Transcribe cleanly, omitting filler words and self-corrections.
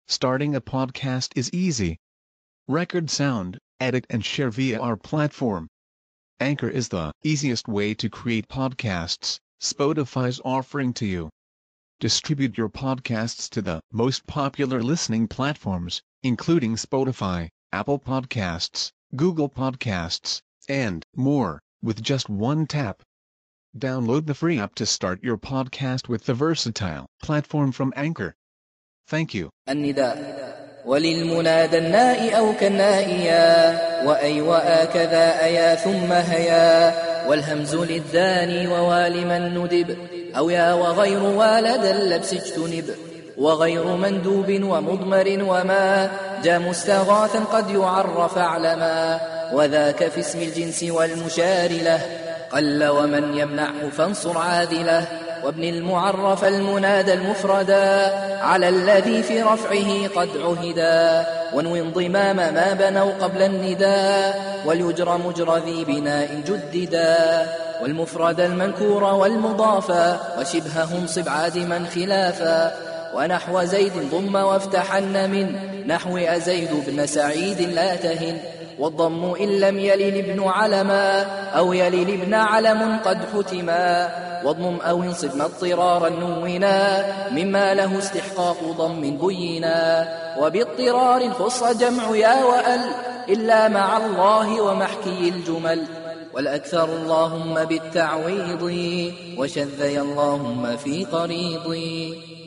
Starting a podcast is easy. Record sound, edit and share via our platform. Anchor is the easiest way to create podcasts. Spotify's offering to you. Distribute your podcasts to the most popular listening platforms, including Spotify, Apple Podcasts, Google Podcasts, and more, with just one tap. Download the free app to start your podcast with the versatile platform from Anchor. Thank you. النداء وللمنادى الناء أو كالنائيا وأي وآكذا أيا ثم هيا والهمز للذاني ووالما ندب أو يا وغير والد اللبس اجتنب وغير مندوب ومضمر وما جاء مستغاثا قد يعرف علما وذاك في اسم الجنس والمشار له قل ومن يمنعه فانصر عاذله وابن المعرف المنادى المفردا على الذي في رفعه قد عهدا وانو انضمام ما بنوا قبل النداء وليجر مجر ذي بناء جددا والمفرد المنكور والمضافا وشبههم صب عادما خلافا ونحو زيد ضم وافتحن من نحو أزيد بن سعيد لا تهن والضم إن لم يلل ابن علما أو يلل ابن علم قد حتما واضمم أو انصب اضطرارا نونا مما له استحقاق ضم بينا وباضطرار خص جمع يا وأل إلا مع الله ومحكي الجمل والأكثر اللهم بالتعويض وشذي اللهم في قريض